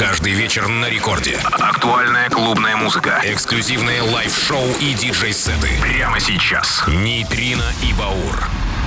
Каждый вечер на рекорде. Актуальная клубная музыка. Эксклюзивные лайв-шоу и диджей-сеты. Прямо сейчас. Нейтрино и Баур.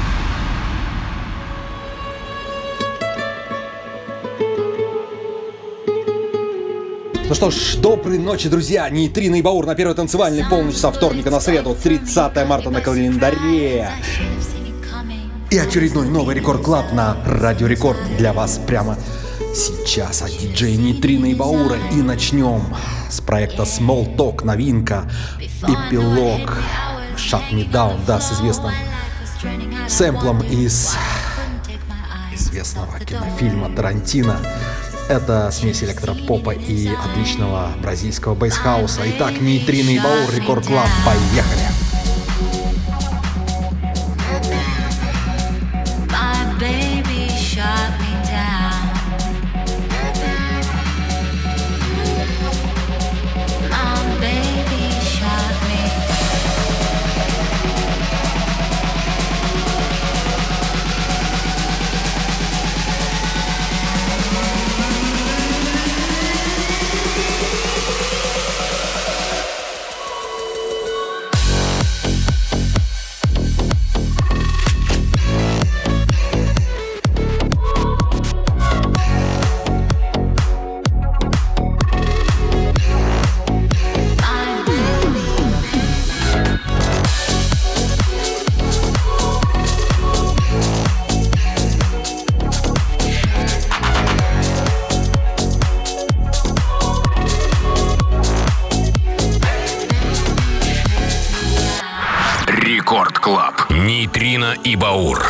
Ну что ж, доброй ночи, друзья! Нейтрино и Баур на первой танцевальной полночь со вторника на среду, 30 марта на календаре. И очередной новый Рекорд Клаб на Радио Рекорд для вас прямо сейчас от диджея Нейтрино и Баура. И начнем с проекта Small Talk, новинка, эпилог Shut Me Down, да, с известным сэмплом из известного кинофильма Тарантино. Это смесь электропопа и отличного бразильского бейсхауса. Итак, Нейтрино и Баур, Рекорд Клаб, поехали! Нейтрино и Баур.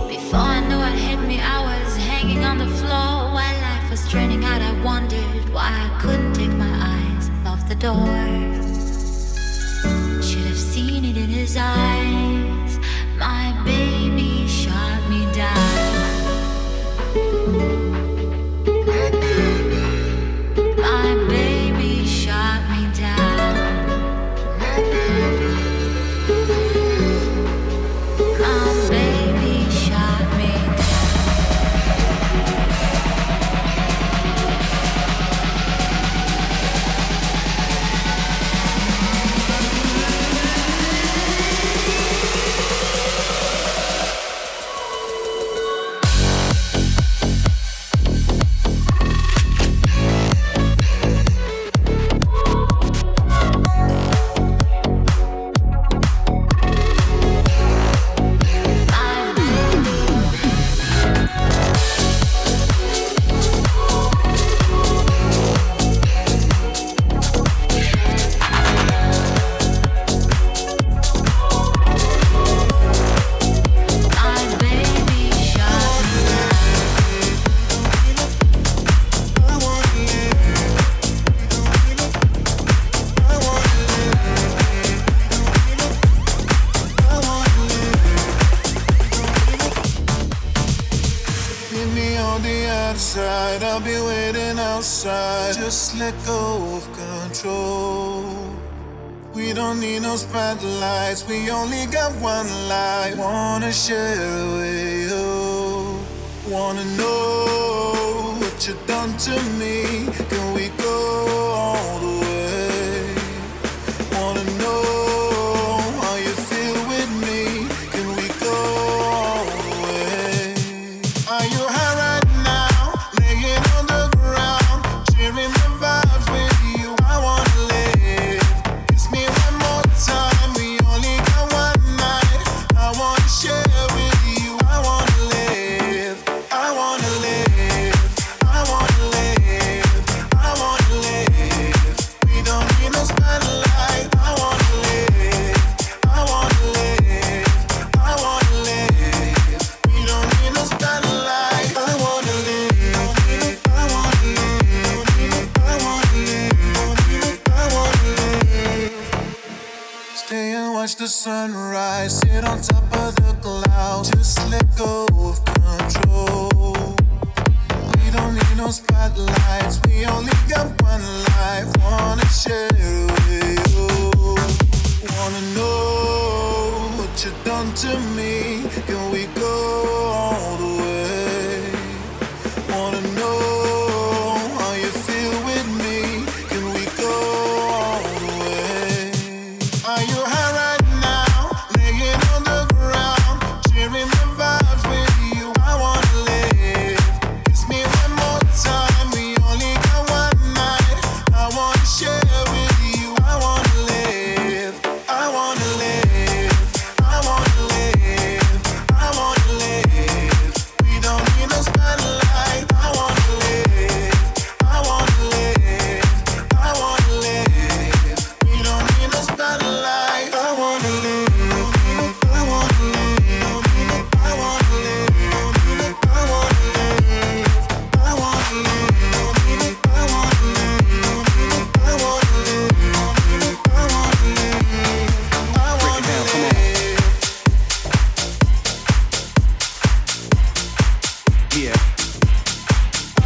I'll be waiting outside. Just let go of control. We don't need no spotlights. We only got one life. Wanna share it with you. Wanna know what you done to me. Can we go all the way? Wanna know how you feel with me. Can we go all the way? Are you high right now? Laying on the ground, sharing the vibes with you. I wanna live. Kiss me one more time. We only got one night. I wanna share with you. I wanna live. I wanna live. I wanna live. I wanna live. We don't need no spotlight. I wanna live. I wanna live. I wanna live. We don't need no spotlight. I wanna live. I wanna live. I wanna live. I wanna live. Stay and watch the sunrise. Sit on top of the clouds. Just let go of control. We don't need no spotlights. We only got one life. Wanna share it with you. Wanna know what you done to me. Can we go all the way? Wanna know how you feel with me.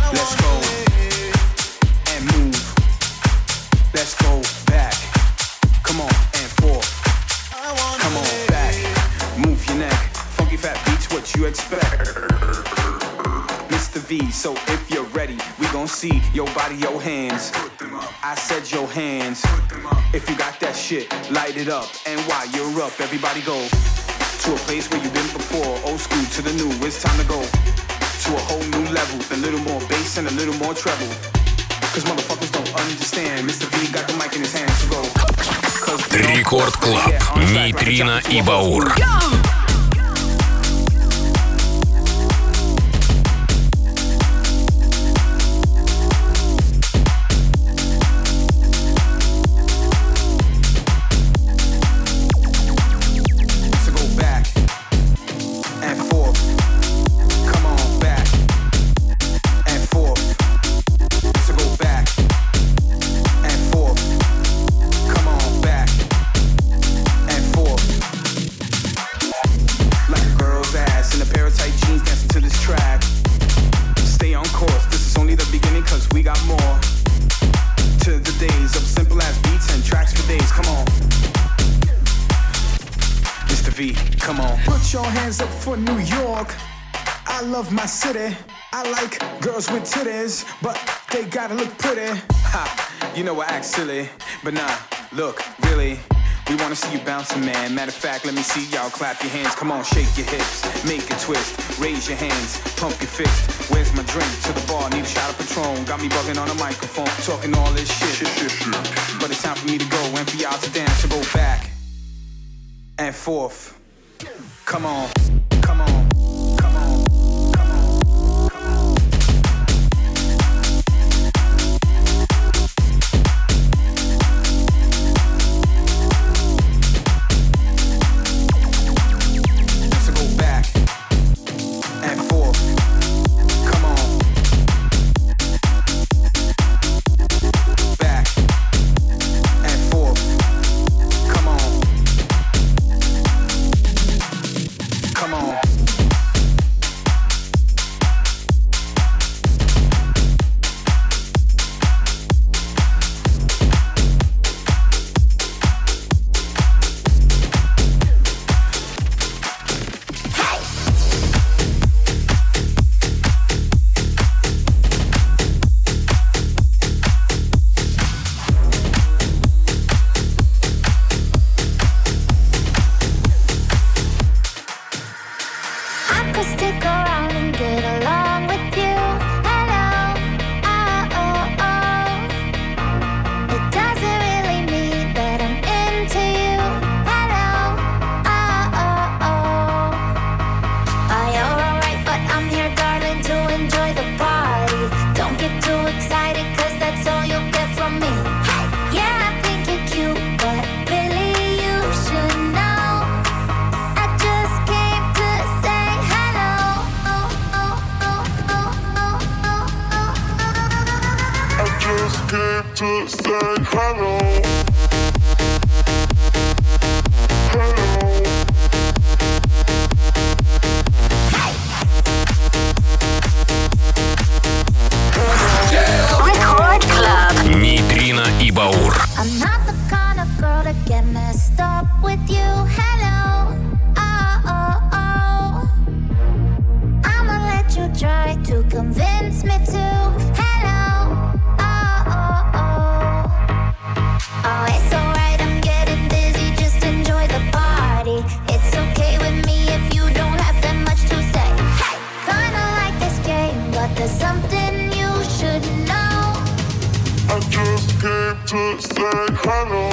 Let's go and move. Let's go back. Come on and forth. Come on back. Move your neck. Funky fat beats, what you expect? Mr. V, so if you're ready, we gon' see your body, your hands. I said your hands. If you got that shit, light it up. And while you're up, everybody go to a place where you've been before. Old school to the new, it's time to go to a whole new level. A little more bass and a little more treble. Cause motherfuckers don't understand. Mr. V got the mic in his hands to go. Рекорд Клаб. Нейтрино и Баур. For New York, I love my city. I like girls with titties, but they gotta look pretty. Ha, you know I act silly, but nah, look, really, we wanna see you bouncing, man. Matter of fact, let me see y'all clap your hands. Come on, shake your hips, make a twist, raise your hands, pump your fist. Where's my drink? To the bar, need a shot of Patron. Got me bugging on a microphone, talking all this shit. But it's time for me to go and for y'all to dance. So go back and forth. Come on. Come on, come on, come on, come on. So go back and forth. Come on. Back and forth. Come on. Come on. To say hello. Record Club. Нейтрино и Баур. I'm not the kind of girl to get messed up with you. Hello. Oh, oh, oh. I'ma let you try to convince me to. Hello. Oh, oh, oh. Oh, it's alright, I'm getting dizzy. Just enjoy the party. It's okay with me if you don't have that much to say. Hey, kinda like this game, but there's something you should know. I just came to say hello.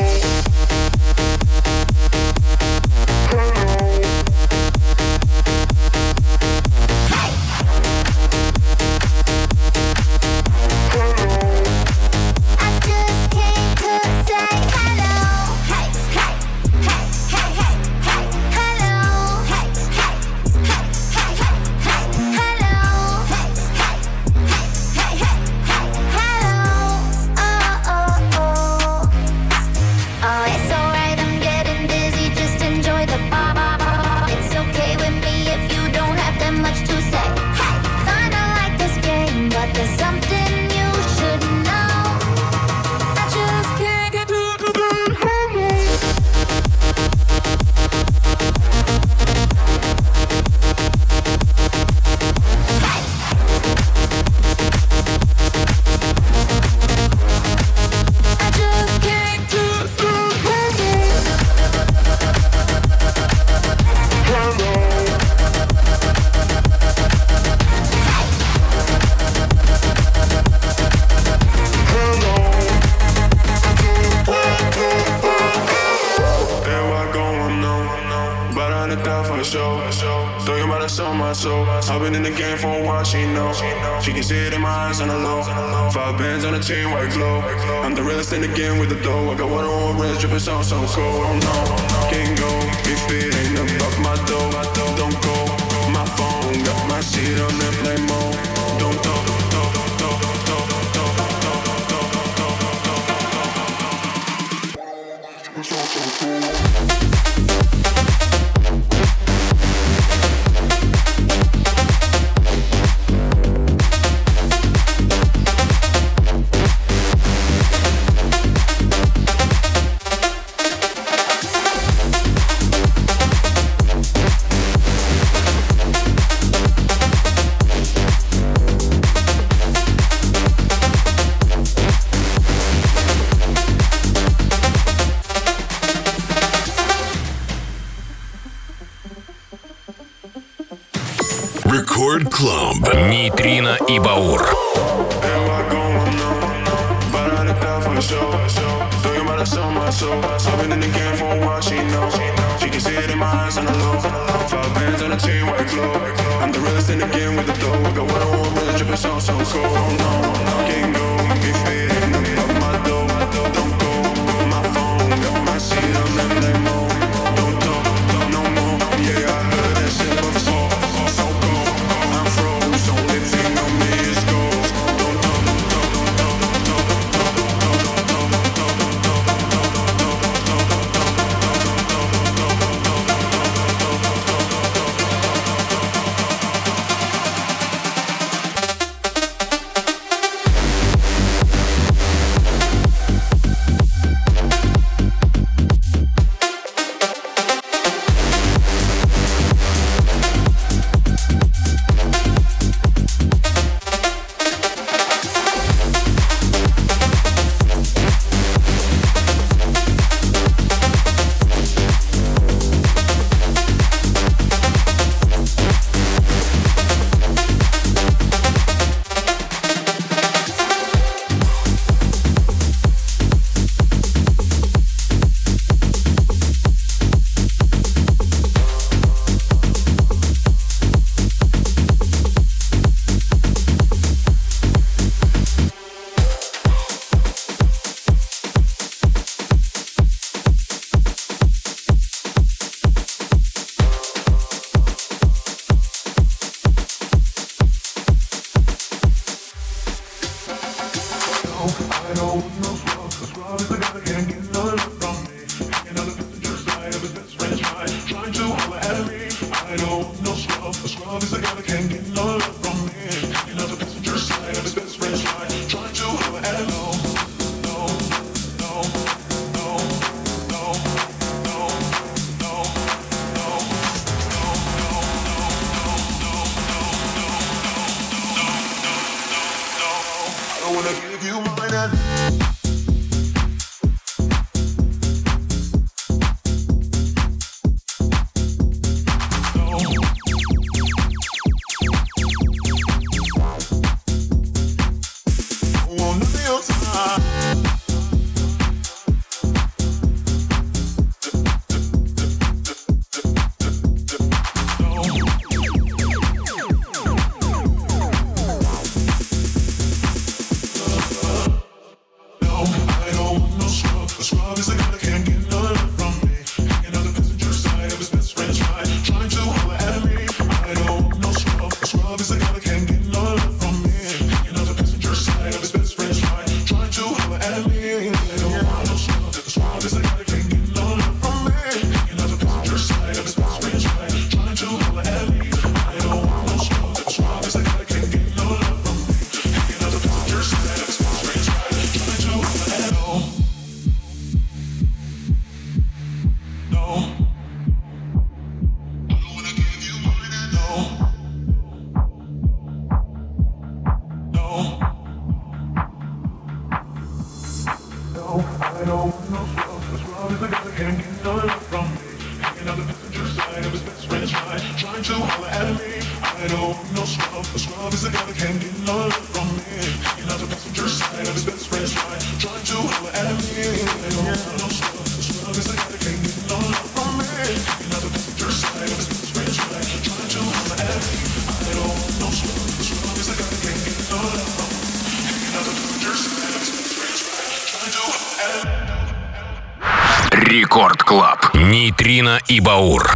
game for a while, she know. She can see it in my eyes on the low. 5 bands on the chain, white glow. I'm the realest in the game with the dough. I got water on my wrist, dripping so cold. Oh no, can't go if it ain't about my dough. Don't go, my phone got my shit on airplane mode. Don't go. Рекорд Клаб. Нейтрино и Баур. I've been in the game for a while, she knows. She can see it in my eyes on the low. 5 bands on the chain, white glow. I'm the realest in the game with the dough. I got water on my wrist, dripping so cold. Oh no, can't go if it ain't about my dough. Don't go, my phone got my shit on airplane mode. Don't talk no more. Yeah, I heard that shit before. So cold, I'm froze. Only thing on me is gold. Don't talk. Рекорд Клаб. Нейтрино и Баур.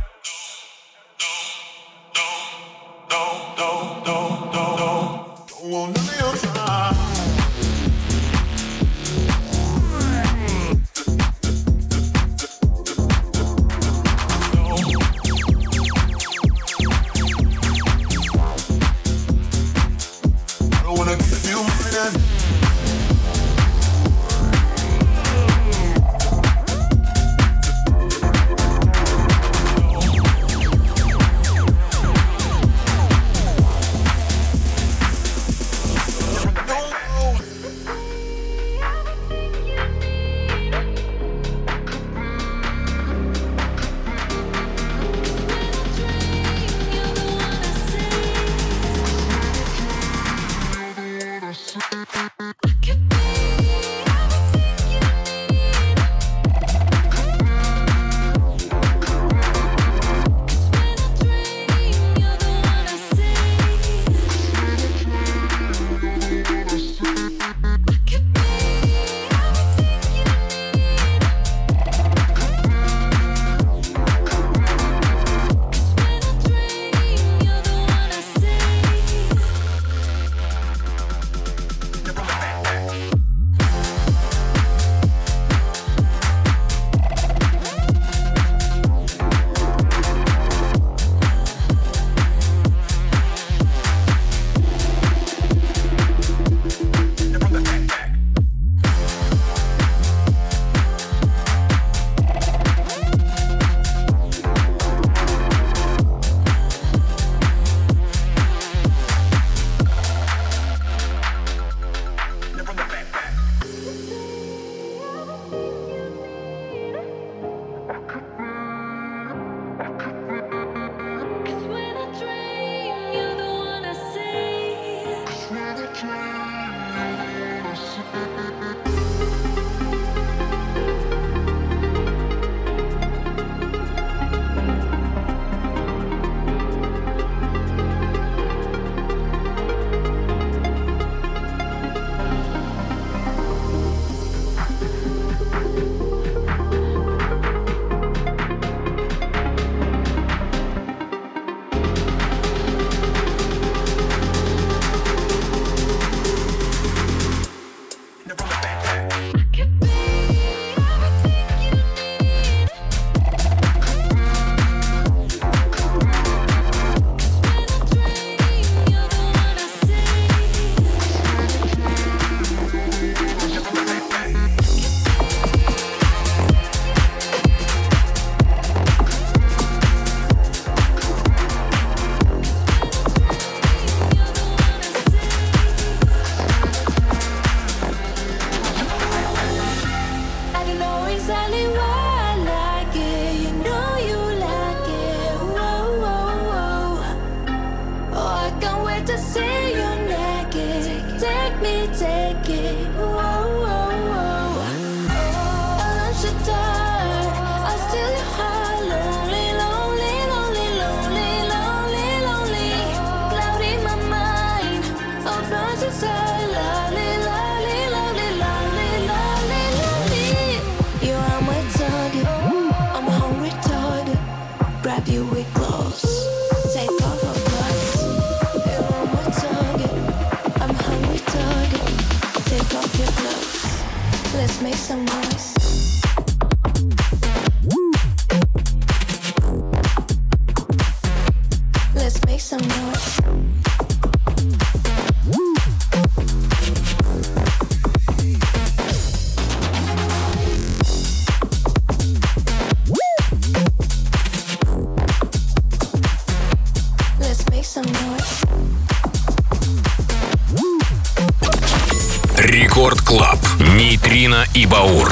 Рекорд Клаб. Нейтрино и Баур.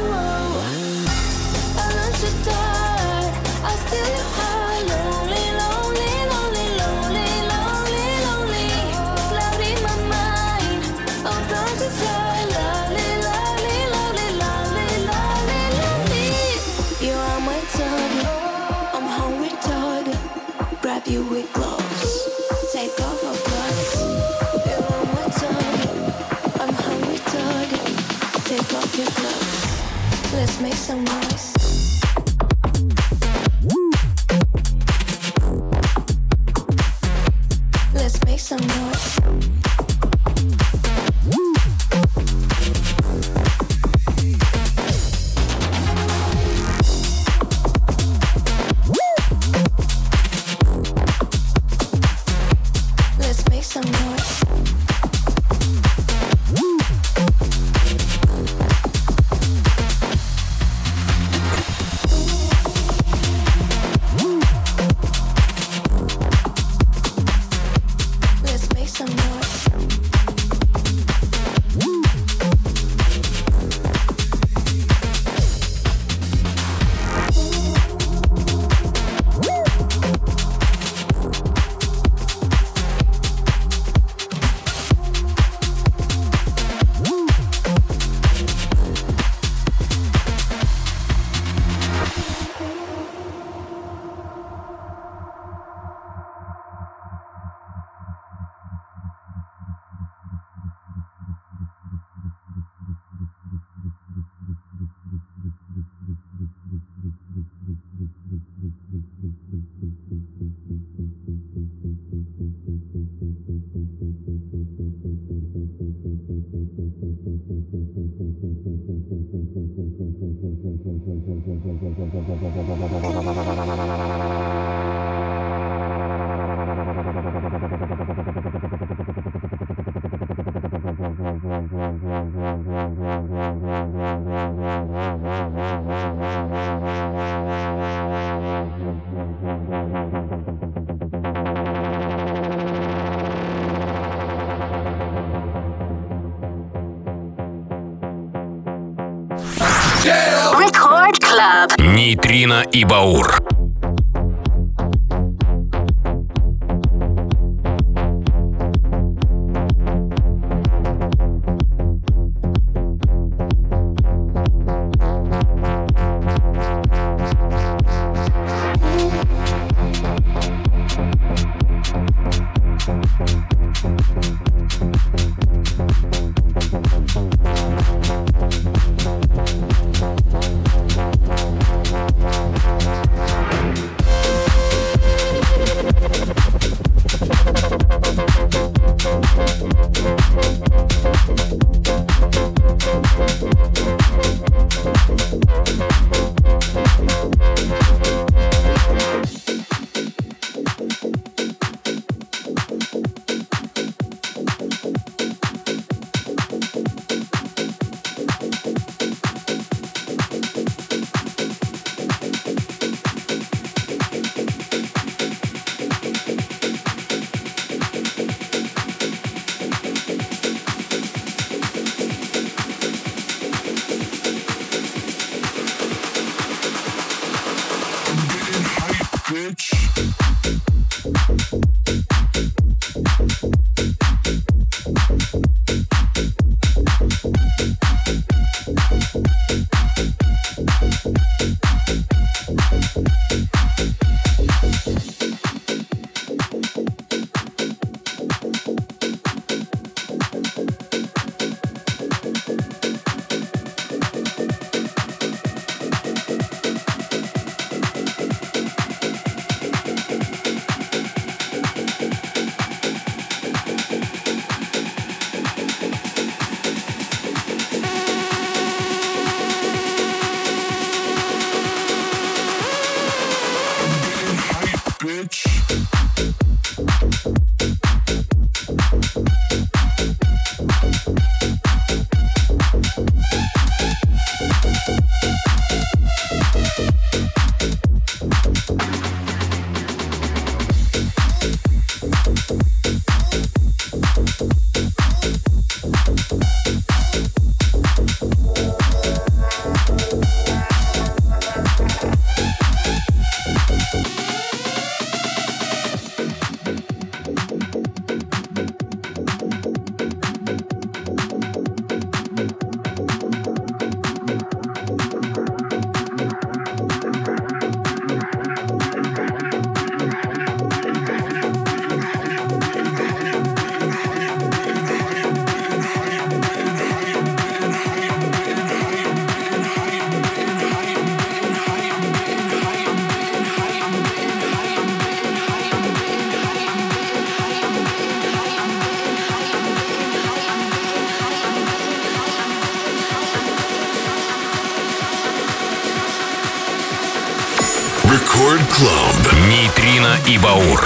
Lonely, lonely. Let's make some noise. Let's make some noise. Let's make some noise. Let's make some noise. Record Club. Нейтрино и Баур. Record Club. Нейтрино и Баур.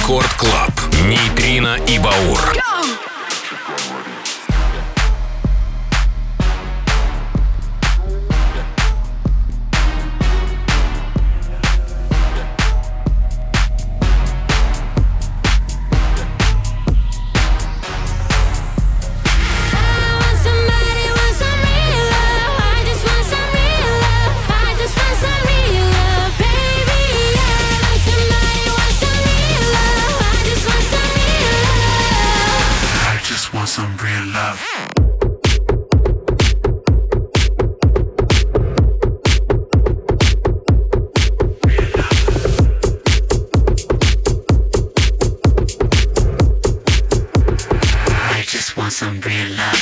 Рекорд Клаб. Нейтрино и Баур. Some real love. I just want some real love.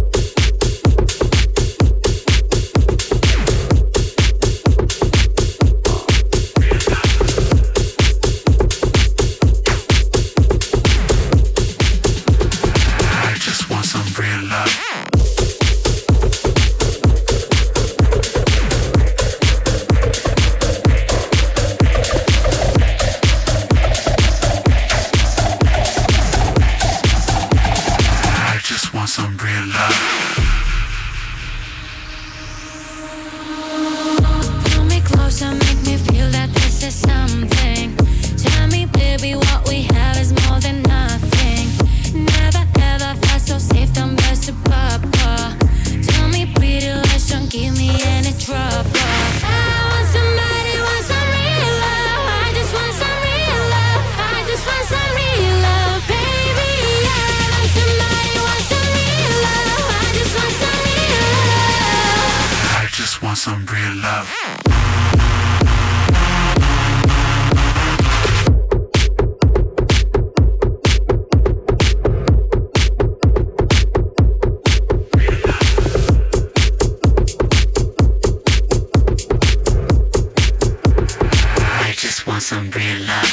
Some real love. I just want some real love.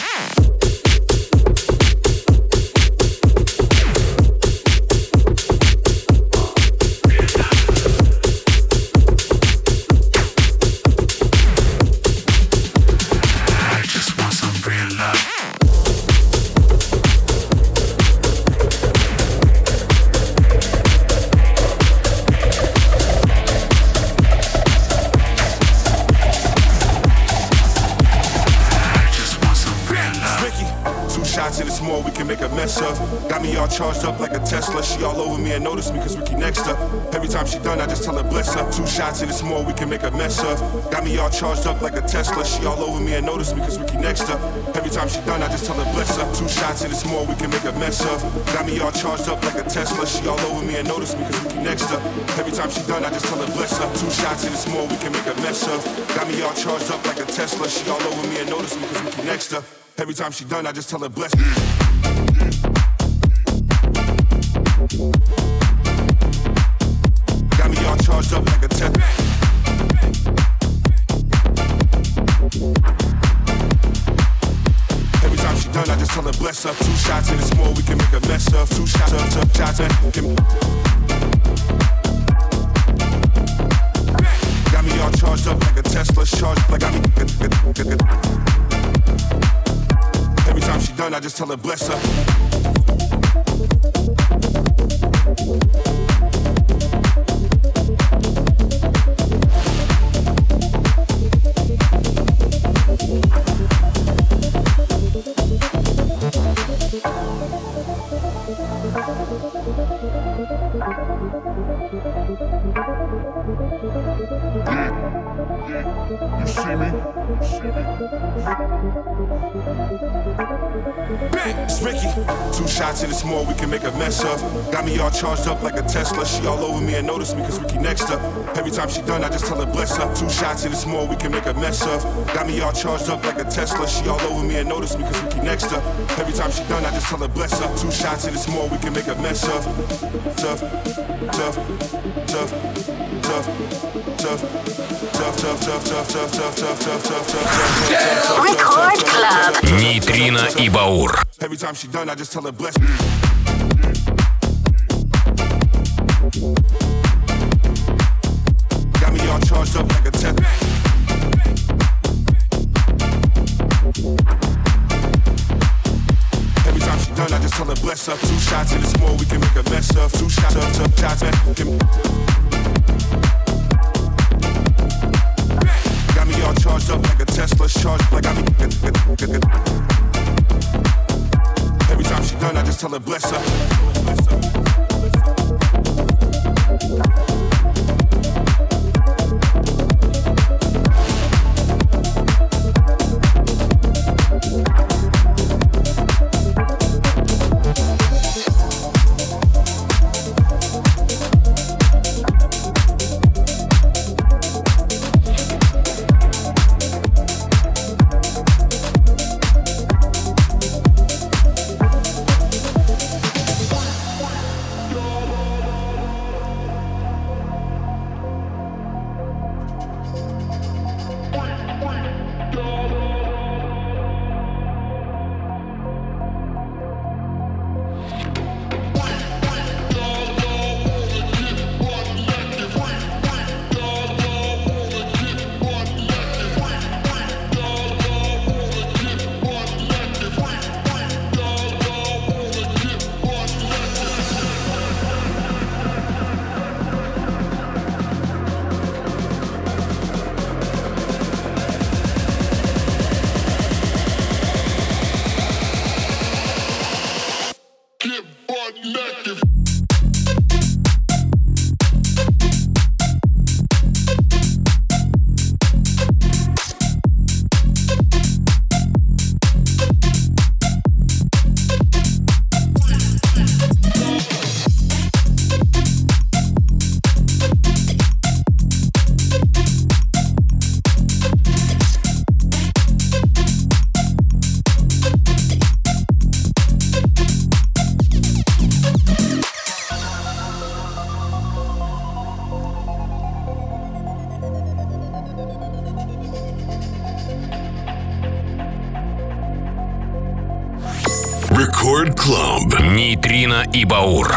Got me all charged up like a Tesla. She all over me and notice me cause Ricky next up. Every time she done, I just tell her bless her. 2 shots and it's more we can make a mess of. Got me all charged up like a Tesla. She all over me and notice me cause Ricky next up. Every time she done, I just tell her bless her. 2 shots and it's more we can make a mess of. Got me all charged up like a Tesla. She all over me and notice me cause Ricky next up. Every time she done, I just tell her bless her. 2 shots and it's more we can make a mess of. Got me all charged up like a Tesla. She all over me and notice me cause Ricky next up. Every time she done, I just tell her bless her. Got me all charged up like a tech. Every time she done, I just tell her bless her. 2 shots and it's more we can make a mess of. 2 shots and got me all charged up like a Tesla. Charged like I mean. Every time she done, I just tell her bless her. You see me? It's Ricky. 2 shots and it's more we can make a mess of. Got me all charged up like a Tesla. She all over me and notice me cause Ricky next up. Every time she done, I just tell her bless her. 2 shots and it's more we can make a mess of. Got me all charged up like a Tesla. She all over me and notice me cause Ricky next up. Every time she done, I just tell her bless her. 2 shots and it's more we can make a mess of. Tough, tough, tough, tough, tough, tough, tough, tough, tough, tough, tough, tough, tough, tough, tough. Рекорд Клаб. Нейтрино и Баур. Every time she done, I just tell her bless. Got me all charged up like a tech. shots, man. Got me all charged up like a Tesla, charged like I'm. Every time she done, I just tell her bless her. Рекорд Клаб. Нейтрино и Баур.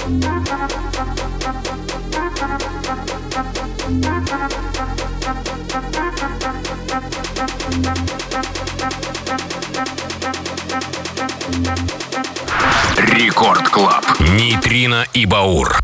Рекорд Клаб. Нейтрино и Баур.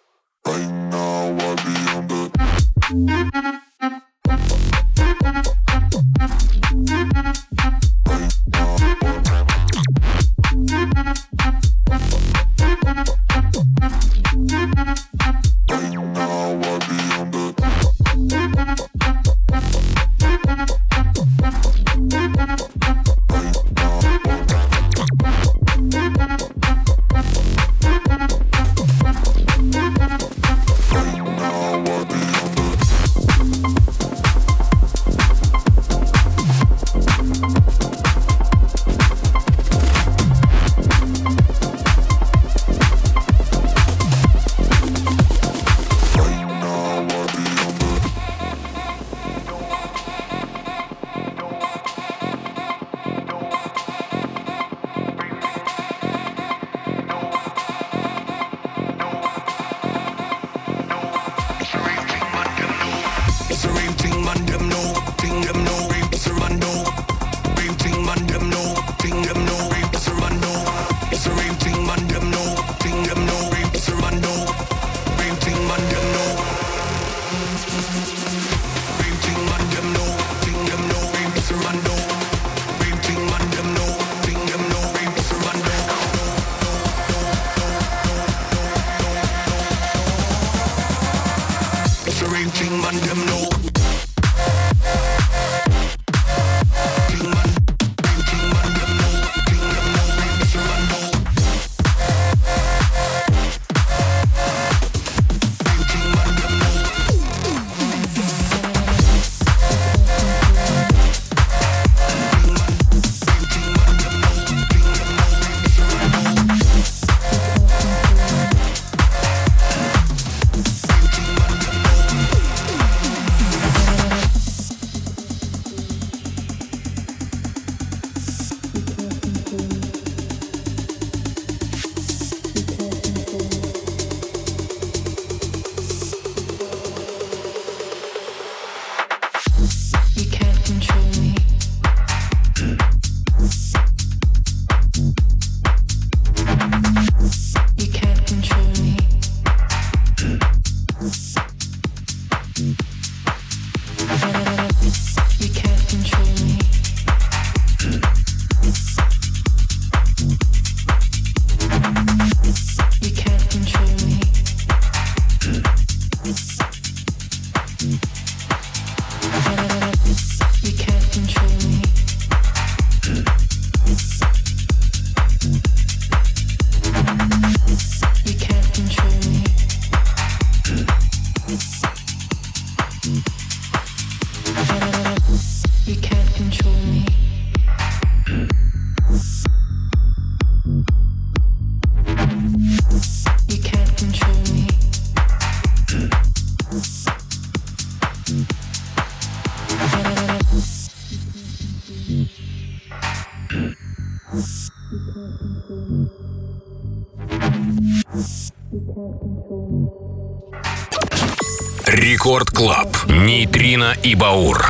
Рекорд Клаб. Нейтрино и Баур.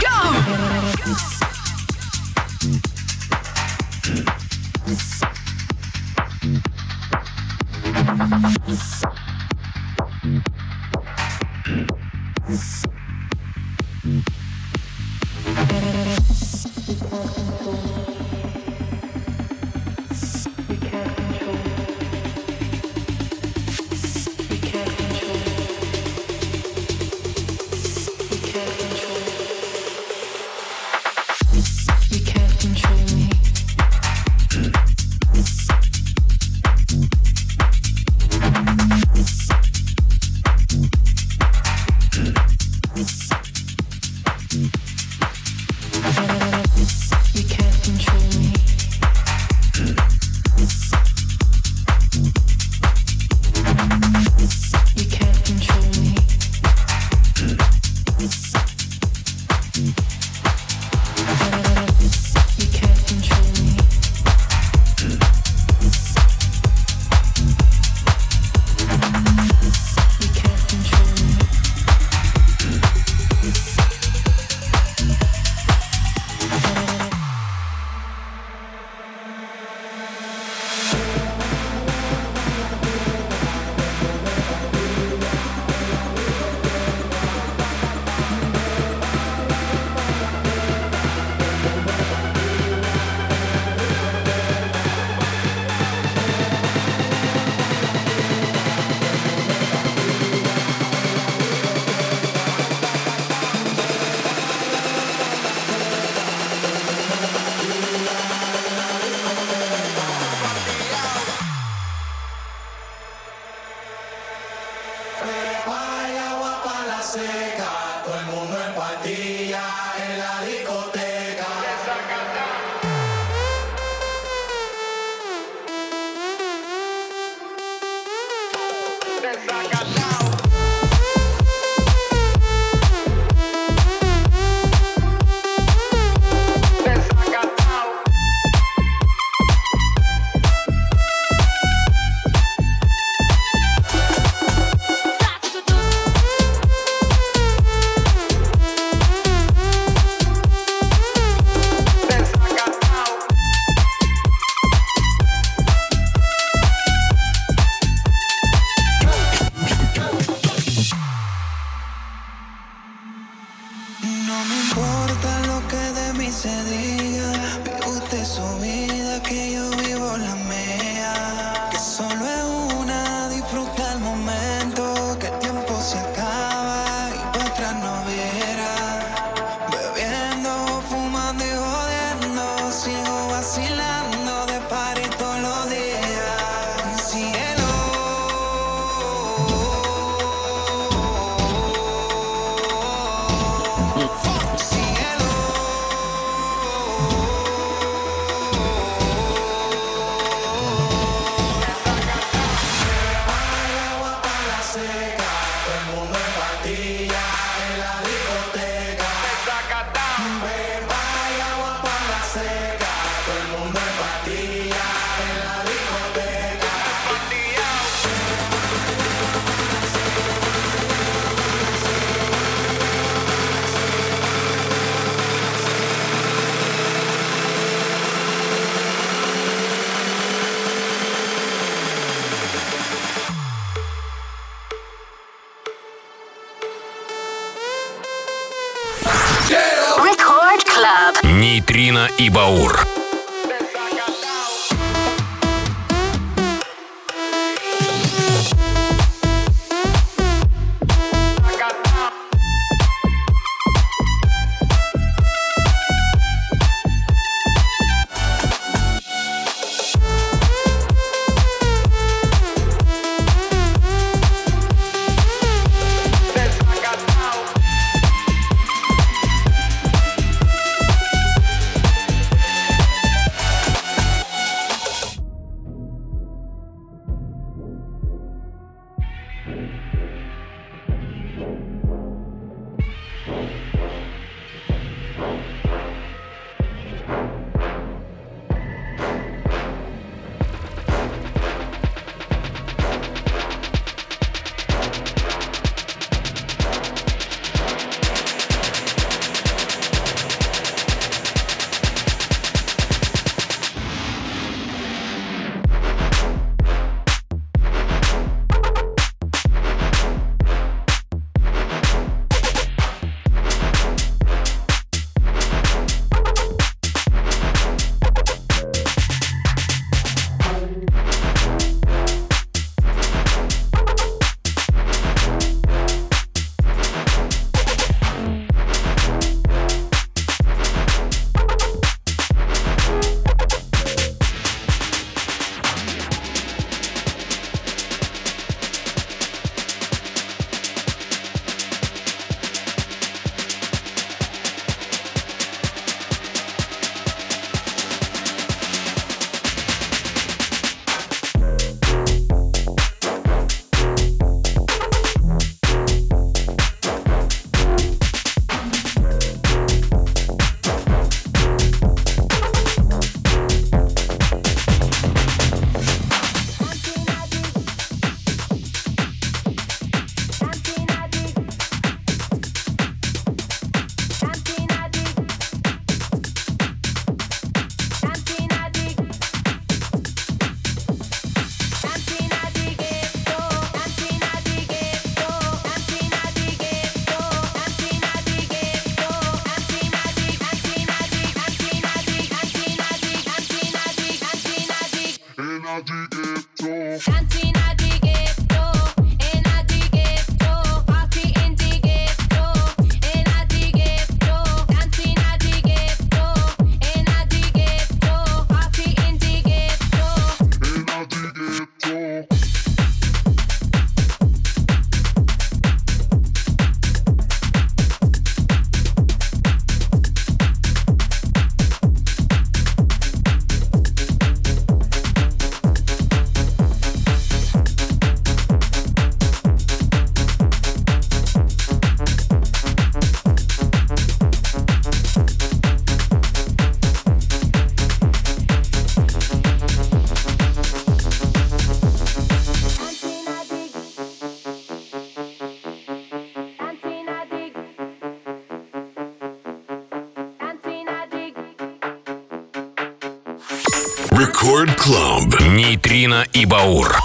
Нейтрино и Баур. Рекорд Клаб. Нейтрино и Баур.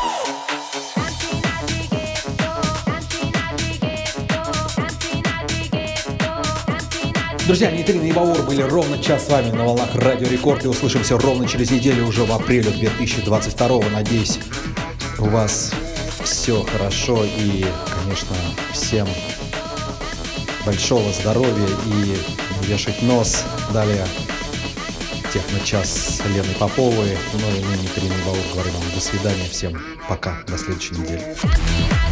Друзья, Нейтрино и Баур были ровно час с вами на волнах Радио Рекорд. И услышимся ровно через неделю, уже в апреле 2022. Надеюсь, у вас все хорошо. И, конечно, всем большого здоровья и не вешать нос. Далее техно-час с Леной Поповой. Ну и мы, Нейтрино и Баур, говорим вам до свидания. Всем пока, до следующей недели.